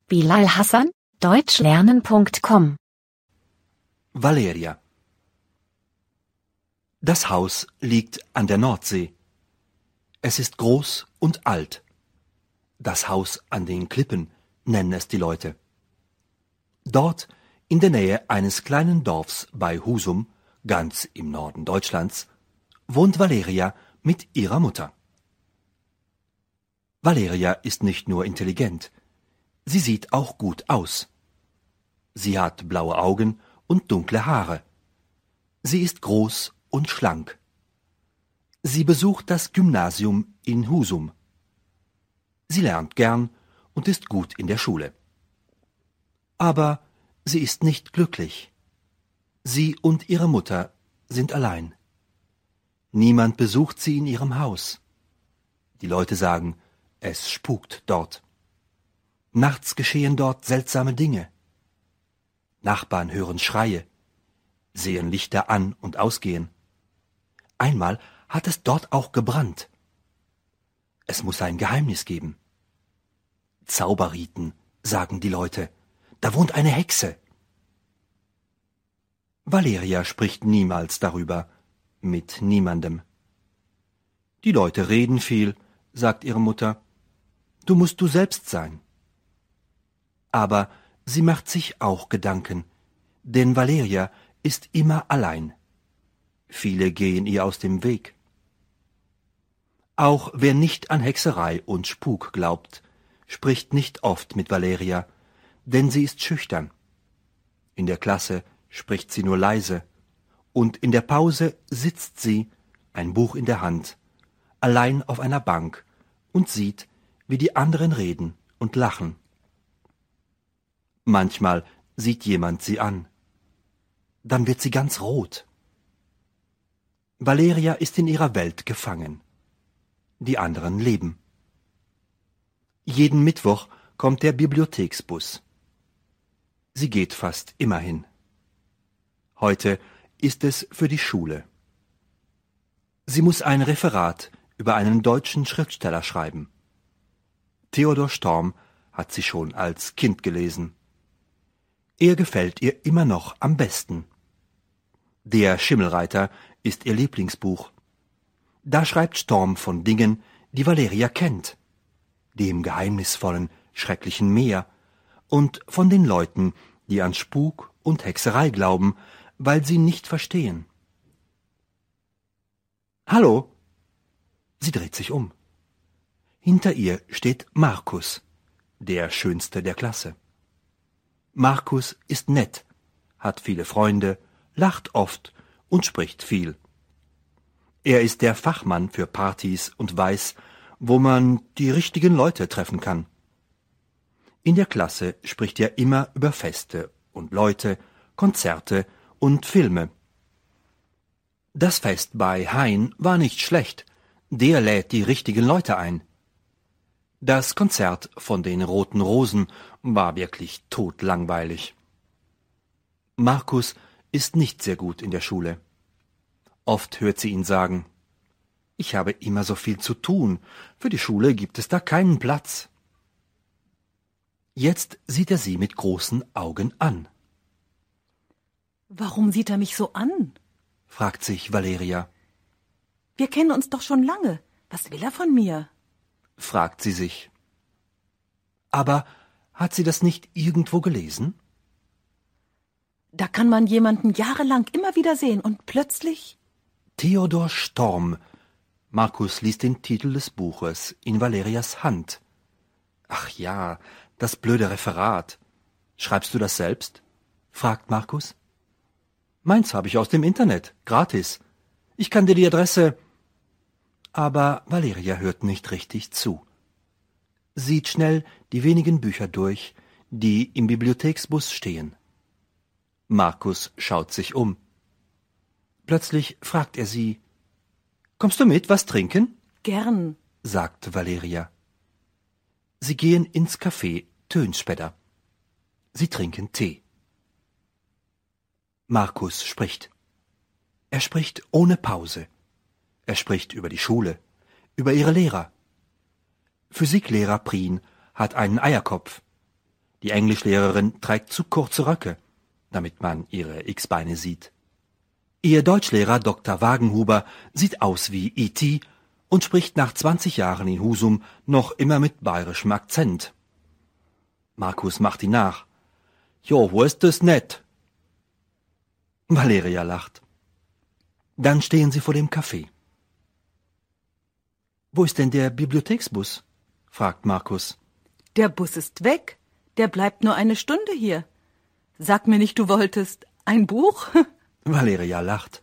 Bilal Hassan, deutschlernen.com. Valeria. Das Haus liegt an der Nordsee. Es ist groß und alt. Das Haus an den Klippen nennen es die Leute. Dort, in der Nähe eines kleinen Dorfs bei Husum, ganz im Norden Deutschlands, wohnt Valeria mit ihrer Mutter. Valeria ist nicht nur intelligent, sie sieht auch gut aus. Sie hat blaue Augen und dunkle Haare. Sie ist groß und schlank. Sie besucht das Gymnasium in Husum. Sie lernt gern und ist gut in der Schule. Aber sie ist nicht glücklich. Sie und ihre Mutter sind allein. Niemand besucht sie in ihrem Haus. Die Leute sagen, es spukt dort. Nachts geschehen dort seltsame Dinge. Nachbarn hören Schreie, sehen Lichter an und ausgehen. Einmal hat es dort auch gebrannt. Es muss ein Geheimnis geben. Zauberriten, sagen die Leute. Da wohnt eine Hexe. Valeria spricht niemals darüber, mit niemandem. Die Leute reden viel, sagt ihre Mutter. Du musst du selbst sein. Aber sie macht sich auch Gedanken, denn Valeria ist immer allein. Viele gehen ihr aus dem Weg. Auch wer nicht an Hexerei und Spuk glaubt, spricht nicht oft mit Valeria, denn sie ist schüchtern. In der Klasse spricht sie nur leise, und in der Pause sitzt sie, ein Buch in der Hand, allein auf einer Bank und sieht, wie die anderen reden und lachen. Manchmal sieht jemand sie an. Dann wird sie ganz rot. Valeria ist in ihrer Welt gefangen. Die anderen leben. Jeden Mittwoch kommt der Bibliotheksbus. Sie geht fast immer hin. Heute ist es für die Schule. Sie muss ein Referat über einen deutschen Schriftsteller schreiben. Theodor Storm hat sie schon als Kind gelesen. Er gefällt ihr immer noch am besten. Der Schimmelreiter ist ihr Lieblingsbuch. Da schreibt Storm von Dingen, die Valeria kennt, dem geheimnisvollen, schrecklichen Meer und von den Leuten, die an Spuk und Hexerei glauben, weil sie nicht verstehen. Hallo? Sie dreht sich um. Hinter ihr steht Markus, der Schönste der Klasse. Markus ist nett, hat viele Freunde, lacht oft und spricht viel. Er ist der Fachmann für Partys und weiß, wo man die richtigen Leute treffen kann. In der Klasse spricht er immer über Feste und Leute, Konzerte und Filme. Das Fest bei Hein war nicht schlecht, der lädt die richtigen Leute ein. Das Konzert von den Roten Rosen war wirklich totlangweilig. Markus ist nicht sehr gut in der Schule. Oft hört sie ihn sagen, ich habe immer so viel zu tun, für die Schule gibt es da keinen Platz. Jetzt sieht er sie mit großen Augen an. Warum sieht er mich so an? Fragt sich Valeria. Wir kennen uns doch schon lange. Was will er von mir? Fragt sie sich. Aber hat sie das nicht irgendwo gelesen? Da kann man jemanden jahrelang immer wieder sehen und plötzlich... Theodor Storm. Markus liest den Titel des Buches in Valerias Hand. Ach ja, das blöde Referat. Schreibst du das selbst? Fragt Markus. Meins habe ich aus dem Internet, gratis. Ich kann dir die Adresse... Aber Valeria hört nicht richtig zu. Sieht schnell die wenigen Bücher durch, die im Bibliotheksbus stehen. Markus schaut sich um. Plötzlich fragt er sie, »Kommst du mit, was trinken?« Gern, sagt Valeria. Sie gehen ins Café Tönspäder. Sie trinken Tee. Markus spricht. Er spricht ohne Pause. Er spricht über die Schule, über ihre Lehrer. Physiklehrer Prien hat einen Eierkopf. Die Englischlehrerin trägt zu kurze Röcke, damit man ihre X-Beine sieht. Ihr Deutschlehrer Dr. Wagenhuber sieht aus wie E.T. und spricht nach 20 Jahren in Husum noch immer mit bayerischem Akzent. Markus macht ihn nach. Jo, wo ist das nett? Valeria lacht. Dann stehen sie vor dem Café. Wo ist denn der Bibliotheksbus? Fragt Markus. Der Bus ist weg. Der bleibt nur eine Stunde hier. Sag mir nicht, du wolltest ein Buch? Valeria lacht.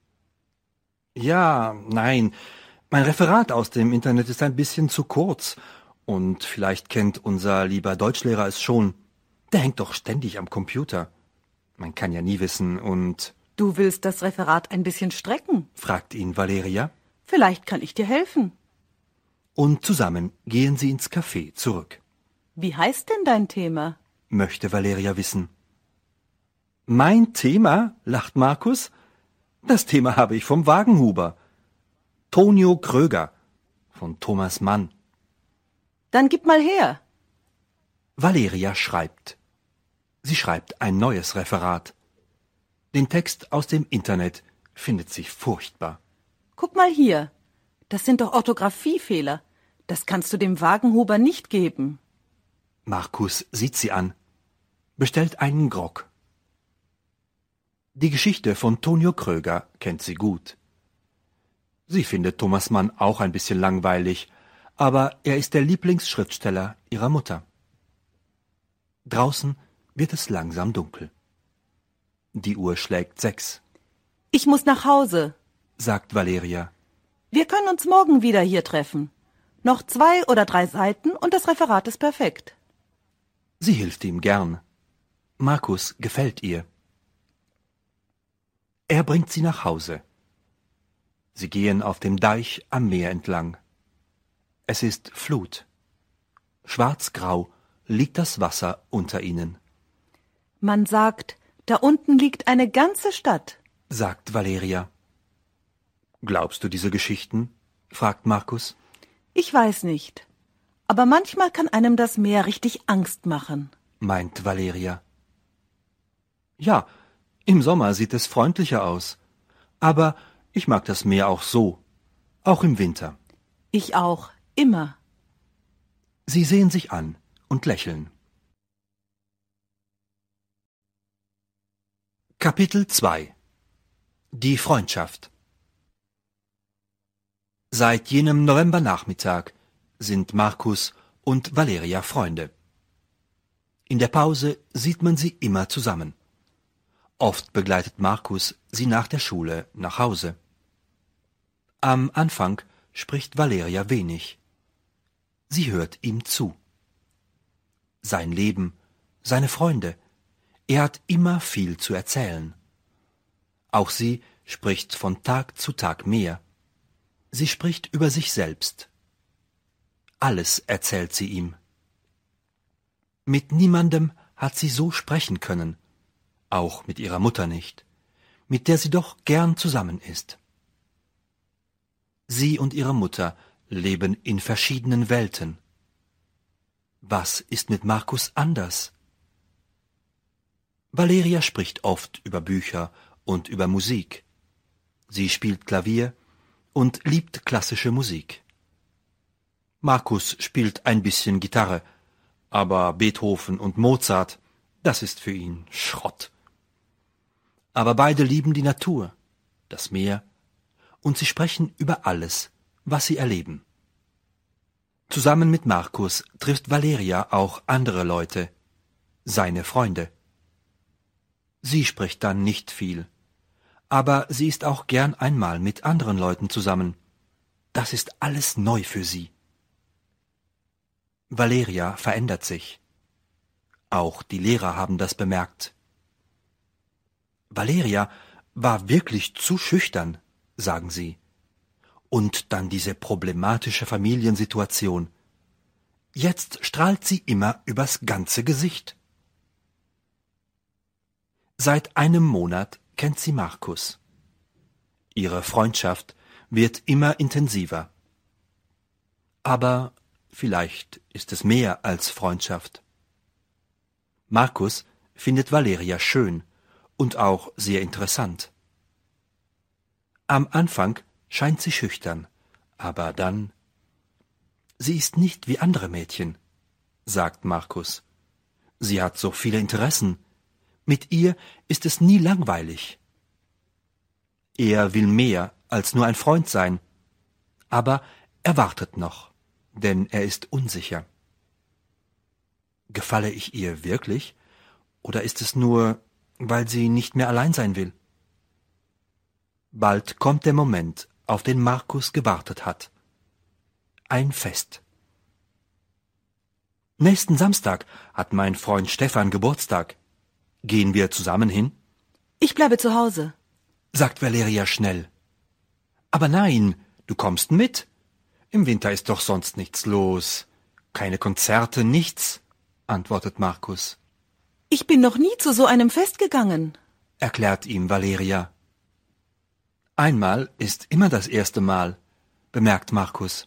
Ja, nein, mein Referat aus dem Internet ist ein bisschen zu kurz. Und vielleicht kennt unser lieber Deutschlehrer es schon. Der hängt doch ständig am Computer. Man kann ja nie wissen und... Du willst das Referat ein bisschen strecken? Fragt ihn Valeria. Vielleicht kann ich dir helfen. Und zusammen gehen sie ins Café zurück. Wie heißt denn dein Thema? Möchte Valeria wissen. Mein Thema? Lacht Markus. Das Thema habe ich vom Wagenhuber. Tonio Kröger von Thomas Mann. Dann gib mal her. Valeria schreibt. Sie schreibt ein neues Referat. Den Text aus dem Internet findet sie furchtbar. Guck mal hier. Das sind doch Orthographiefehler. Das kannst du dem Wagenhuber nicht geben. Markus sieht sie an, bestellt einen Grog. Die Geschichte von Tonio Kröger kennt sie gut. Sie findet Thomas Mann auch ein bisschen langweilig, aber er ist der Lieblingsschriftsteller ihrer Mutter. Draußen wird es langsam dunkel. Die Uhr schlägt 6. Ich muss nach Hause, sagt Valeria. Wir können uns morgen wieder hier treffen. Noch 2 oder 3 Seiten und das Referat ist perfekt. Sie hilft ihm gern. Markus gefällt ihr. Er bringt sie nach Hause. Sie gehen auf dem Deich am Meer entlang. Es ist Flut. Schwarzgrau liegt das Wasser unter ihnen. Man sagt, da unten liegt eine ganze Stadt, sagt Valeria. Glaubst du diese Geschichten? Fragt Markus. Ich weiß nicht. Aber manchmal kann einem das Meer richtig Angst machen, meint Valeria. Ja, im Sommer sieht es freundlicher aus. Aber ich mag das Meer auch so, auch im Winter. Ich auch, immer. Sie sehen sich an und lächeln. Kapitel 2 Die Freundschaft. Seit jenem Novembernachmittag sind Markus und Valeria Freunde. In der Pause sieht man sie immer zusammen. Oft begleitet Markus sie nach der Schule nach Hause. Am Anfang spricht Valeria wenig. Sie hört ihm zu. Sein Leben, seine Freunde, er hat immer viel zu erzählen. Auch sie spricht von Tag zu Tag mehr. Sie spricht über sich selbst. Alles erzählt sie ihm. Mit niemandem hat sie so sprechen können, auch mit ihrer Mutter nicht, mit der sie doch gern zusammen ist. Sie und ihre Mutter leben in verschiedenen Welten. Was ist mit Markus anders? Valeria spricht oft über Bücher und über Musik. Sie spielt Klavier und liebt klassische Musik. Markus spielt ein bisschen Gitarre, aber Beethoven und Mozart, das ist für ihn Schrott. Aber beide lieben die Natur, das Meer, und sie sprechen über alles, was sie erleben. Zusammen mit Markus trifft Valeria auch andere Leute, seine Freunde. Sie spricht dann nicht viel, aber sie ist auch gern einmal mit anderen Leuten zusammen. Das ist alles neu für sie. Valeria verändert sich. Auch die Lehrer haben das bemerkt. Valeria war wirklich zu schüchtern, sagen sie. Und dann diese problematische Familiensituation. Jetzt strahlt sie immer übers ganze Gesicht. Seit einem Monat kennt sie Markus. Ihre Freundschaft wird immer intensiver. Aber vielleicht ist es mehr als Freundschaft. Markus findet Valeria schön und auch sehr interessant. Am Anfang scheint sie schüchtern, aber dann... Sie ist nicht wie andere Mädchen, sagt Markus. Sie hat so viele Interessen. Mit ihr ist es nie langweilig. Er will mehr als nur ein Freund sein, aber er wartet noch, denn er ist unsicher. Gefalle ich ihr wirklich, oder ist es nur, weil sie nicht mehr allein sein will? Bald kommt der Moment, auf den Markus gewartet hat. Ein Fest. Nächsten Samstag hat mein Freund Stefan Geburtstag. Gehen wir zusammen hin? Ich bleibe zu Hause, sagt Valeria schnell. Aber nein, du kommst mit. Im Winter ist doch sonst nichts los. Keine Konzerte, nichts, antwortet Markus. Ich bin noch nie zu so einem Fest gegangen, Erklärt ihm Valeria. Einmal ist immer das erste Mal, bemerkt Markus.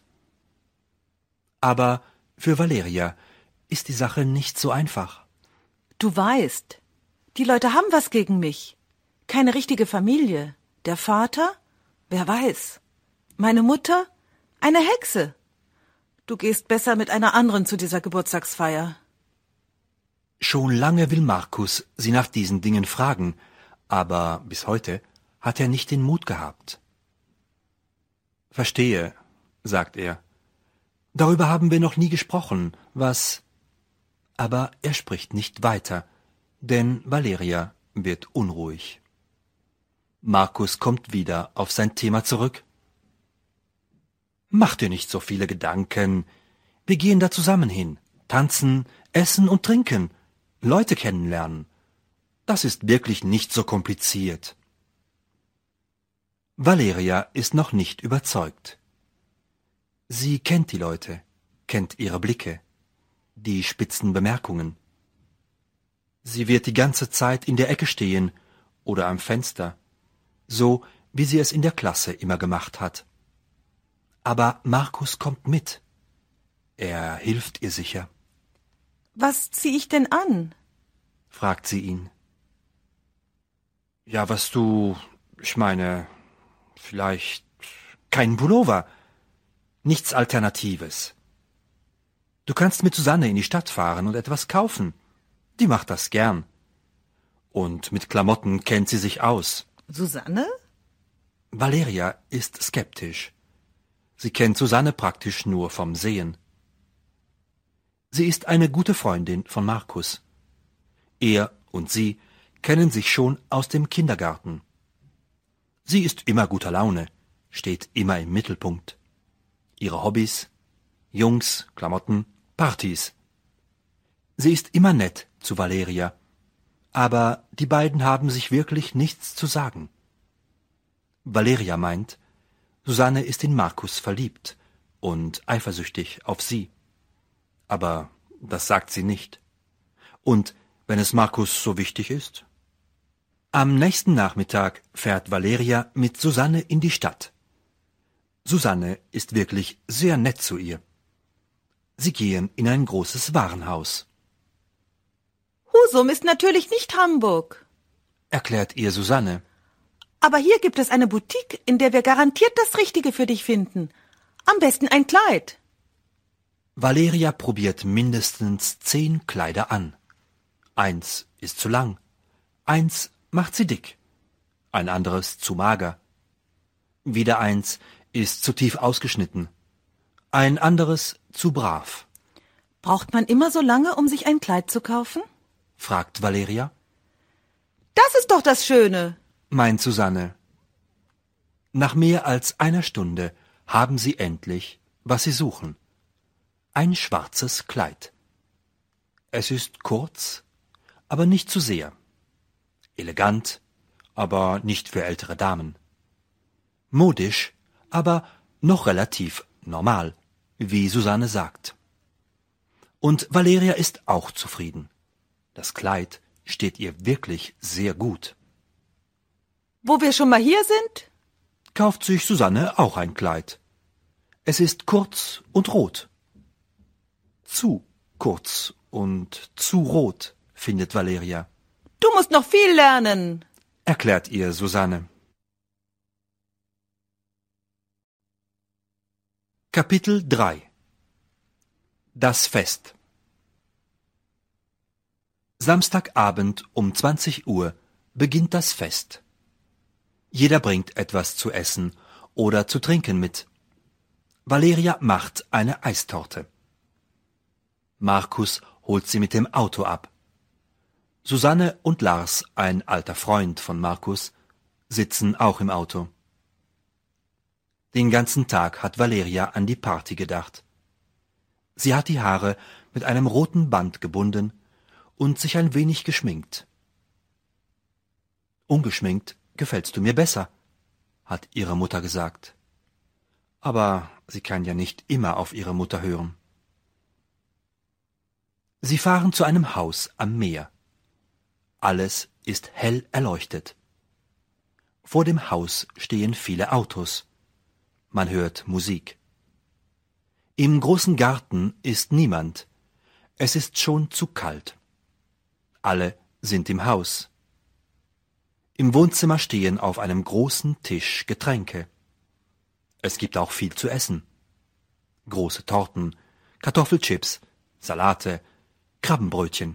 Aber für Valeria ist die Sache nicht so einfach. Du weißt, die Leute haben was gegen mich. Keine richtige Familie. Der Vater? Wer weiß. Meine Mutter? Eine Hexe. Du gehst besser mit einer anderen zu dieser Geburtstagsfeier. Schon lange will Markus sie nach diesen Dingen fragen, aber bis heute hat er nicht den Mut gehabt. Verstehe, sagt er. Darüber haben wir noch nie gesprochen, was... Aber er spricht nicht weiter, denn Valeria wird unruhig. Markus kommt wieder auf sein Thema zurück. Mach dir nicht so viele Gedanken. Wir gehen da zusammen hin, tanzen, essen und trinken, Leute kennenlernen. Das ist wirklich nicht so kompliziert. Valeria ist noch nicht überzeugt. Sie kennt die Leute, kennt ihre Blicke, die spitzen Bemerkungen. Sie wird die ganze Zeit in der Ecke stehen oder am Fenster, so wie sie es in der Klasse immer gemacht hat. Aber Markus kommt mit. Er hilft ihr sicher. Was zieh ich denn an? Fragt sie ihn. Ja, ich meine, vielleicht kein Pullover. Nichts Alternatives. Du kannst mit Susanne in die Stadt fahren und etwas kaufen. Die macht das gern. Und mit Klamotten kennt sie sich aus. Susanne? Valeria ist skeptisch. Sie kennt Susanne praktisch nur vom Sehen. Sie ist eine gute Freundin von Markus. Er und sie kennen sich schon aus dem Kindergarten. Sie ist immer guter Laune, steht immer im Mittelpunkt. Ihre Hobbys: Jungs, Klamotten, Partys. Sie ist immer nett zu Valeria, aber die beiden haben sich wirklich nichts zu sagen. Valeria meint, Susanne ist in Markus verliebt und eifersüchtig auf sie. Aber das sagt sie nicht. Und wenn es Markus so wichtig ist? Am nächsten Nachmittag fährt Valeria mit Susanne in die Stadt. Susanne ist wirklich sehr nett zu ihr. Sie gehen in ein großes Warenhaus. Husum ist natürlich nicht Hamburg, Erklärt ihr Susanne. aber hier gibt es eine Boutique, in der wir garantiert das Richtige für dich finden. Am besten ein Kleid. Valeria probiert mindestens 10 Kleider an. 1 ist zu lang, 1 macht sie dick, ein anderes zu mager. Wieder 1 ist zu tief ausgeschnitten, ein anderes zu brav. Braucht man immer so lange, um sich ein Kleid zu kaufen? Fragt Valeria. Das ist doch das Schöne. Meint Susanne. Nach mehr als einer Stunde haben sie endlich, was sie suchen. Ein schwarzes Kleid. Es ist kurz, aber nicht zu sehr. Elegant, aber nicht für ältere Damen. Modisch, aber noch relativ normal, wie Susanne sagt. Und Valeria ist auch zufrieden. Das Kleid steht ihr wirklich sehr gut. Wo wir schon mal hier sind? Kauft sich Susanne auch ein Kleid. Es ist kurz und rot. Zu kurz und zu rot, findet Valeria. Du musst noch viel lernen, Erklärt ihr Susanne. Kapitel 3 Das Fest. Samstagabend um 20 Uhr beginnt das Fest. Jeder bringt etwas zu essen oder zu trinken mit. Valeria macht eine Eistorte. Markus holt sie mit dem Auto ab. Susanne und Lars, ein alter Freund von Markus, sitzen auch im Auto. Den ganzen Tag hat Valeria an die Party gedacht. Sie hat die Haare mit einem roten Band gebunden und sich ein wenig geschminkt. Ungeschminkt gefällst du mir besser, hat ihre Mutter gesagt. Aber sie kann ja nicht immer auf ihre Mutter hören. Sie fahren zu einem Haus am Meer. Alles ist hell erleuchtet. Vor dem Haus stehen viele Autos. Man hört Musik. Im großen Garten ist niemand. Es ist schon zu kalt. Alle sind im Haus. Im Wohnzimmer stehen auf einem großen Tisch Getränke. Es gibt auch viel zu essen. Große Torten, Kartoffelchips, Salate, Krabbenbrötchen.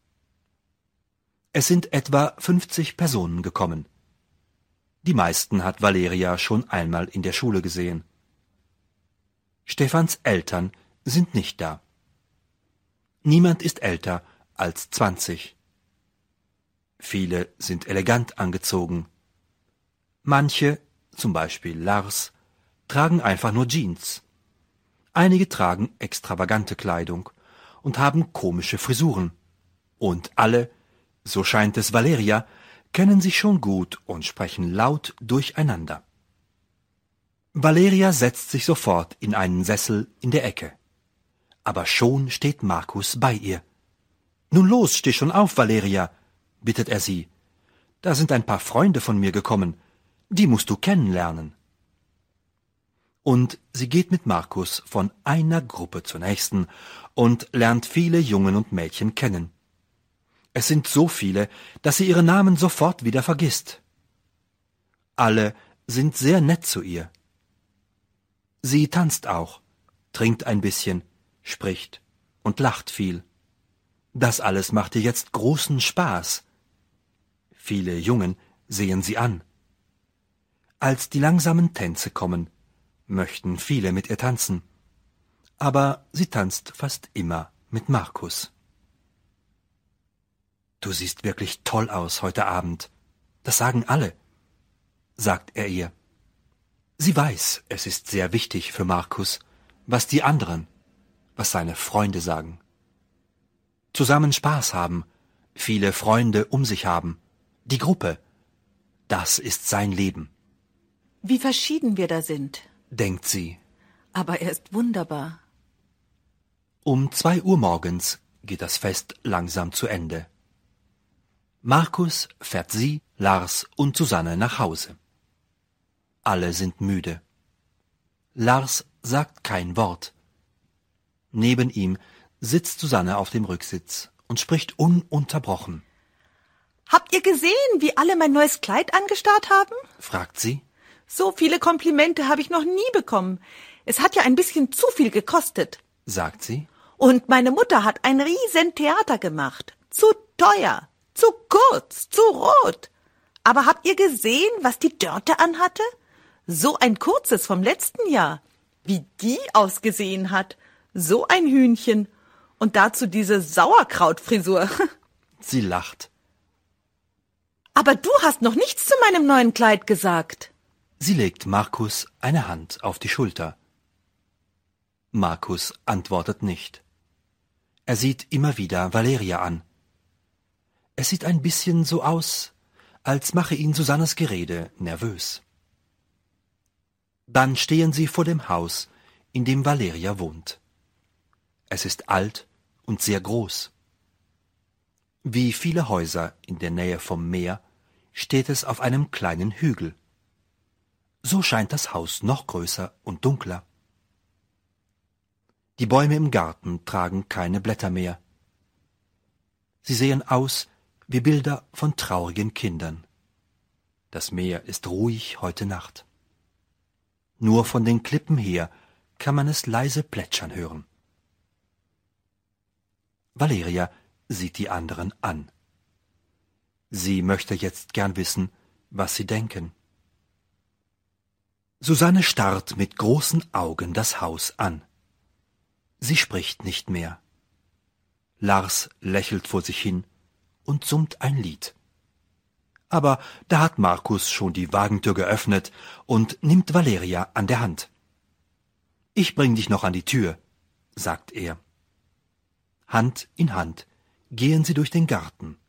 Es sind etwa 50 Personen gekommen. Die meisten hat Valeria schon einmal in der Schule gesehen. Stephans Eltern sind nicht da. Niemand ist älter als 20. Viele sind elegant angezogen. Manche, zum Beispiel Lars, tragen einfach nur Jeans. Einige tragen extravagante Kleidung und haben komische Frisuren. Und alle, so scheint es Valeria, kennen sich schon gut und sprechen laut durcheinander. Valeria setzt sich sofort in einen Sessel in der Ecke. Aber schon steht Markus bei ihr. »Nun los, steh schon auf, Valeria«, bittet er sie. »Da sind ein paar Freunde von mir gekommen. Die musst du kennenlernen.« Und sie geht mit Markus von einer Gruppe zur nächsten und lernt viele Jungen und Mädchen kennen. Es sind so viele, dass sie ihre Namen sofort wieder vergisst. Alle sind sehr nett zu ihr. Sie tanzt auch, trinkt ein bisschen, spricht und lacht viel. Das alles macht ihr jetzt großen Spaß. Viele Jungen sehen sie an. Als die langsamen Tänze kommen, möchten viele mit ihr tanzen. Aber sie tanzt fast immer mit Markus. »Du siehst wirklich toll aus heute Abend. Das sagen alle«, sagt er ihr. Sie weiß, es ist sehr wichtig für Markus, was die anderen, was seine Freunde sagen. Zusammen Spaß haben, viele Freunde um sich haben, die Gruppe, das ist sein Leben. Wie verschieden wir da sind, denkt sie. Aber er ist wunderbar. Um 2 Uhr morgens geht das Fest langsam zu Ende. Markus fährt sie, Lars und Susanne nach Hause. Alle sind müde. Lars sagt kein Wort. Neben ihm sitzt Susanne auf dem Rücksitz und spricht ununterbrochen. »Habt ihr gesehen, wie alle mein neues Kleid angestarrt haben?« fragt sie. »So viele Komplimente habe ich noch nie bekommen. Es hat ja ein bisschen zu viel gekostet«, sagt sie. »Und meine Mutter hat ein riesen Theater gemacht. Zu teuer, zu kurz, zu rot. Aber habt ihr gesehen, was die Dörte anhatte? So ein kurzes vom letzten Jahr. Wie die ausgesehen hat. So ein Hühnchen. Und dazu diese Sauerkrautfrisur.« Sie lacht. »Aber du hast noch nichts zu meinem neuen Kleid gesagt.« Sie legt Markus eine Hand auf die Schulter. Markus antwortet nicht. Er sieht immer wieder Valeria an. Es sieht ein bisschen so aus, als mache ihn Susannes Gerede nervös. Dann stehen sie vor dem Haus, in dem Valeria wohnt. Es ist alt und sehr groß. Wie viele Häuser in der Nähe vom Meer steht es auf einem kleinen Hügel. So scheint das Haus noch größer und dunkler. Die Bäume im Garten tragen keine Blätter mehr. Sie sehen aus wie Bilder von traurigen Kindern. Das Meer ist ruhig heute Nacht. Nur von den Klippen her kann man es leise plätschern hören. Valeria sieht die anderen an. Sie möchte jetzt gern wissen, was sie denken. Susanne starrt mit großen Augen das Haus an. Sie spricht nicht mehr. Lars lächelt vor sich hin und summt ein Lied. Aber da hat Markus schon die Wagentür geöffnet und nimmt Valeria an der Hand. »Ich bring dich noch an die Tür«, sagt er. Hand in Hand gehen sie durch den Garten.